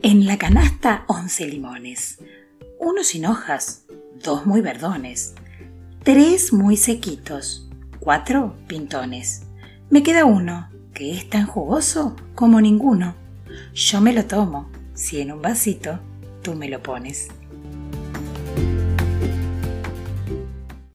En la canasta 11 limones, 1 sin hojas, 2 muy verdones, 3 muy sequitos, 4 pintones. Me queda uno, que es tan jugoso como ninguno. Yo me lo tomo, si en un vasito tú me lo pones.